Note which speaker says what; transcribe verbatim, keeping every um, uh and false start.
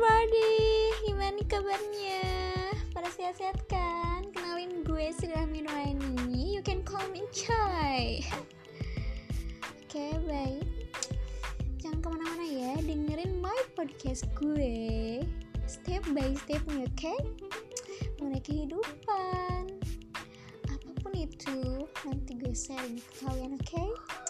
Speaker 1: everybody, gimana nih kabarnya? Pada sehat-sehat kan? Kenalin gue Sri Rahmi Nuraini. You can call me Chai. Oke, okay, baik. Jangan kemana-mana ya, dengerin my podcast gue step by step nih, oke? Okay? Mengenai kehidupan, apapun itu nanti gue sharing ke kalian, oke? Okay?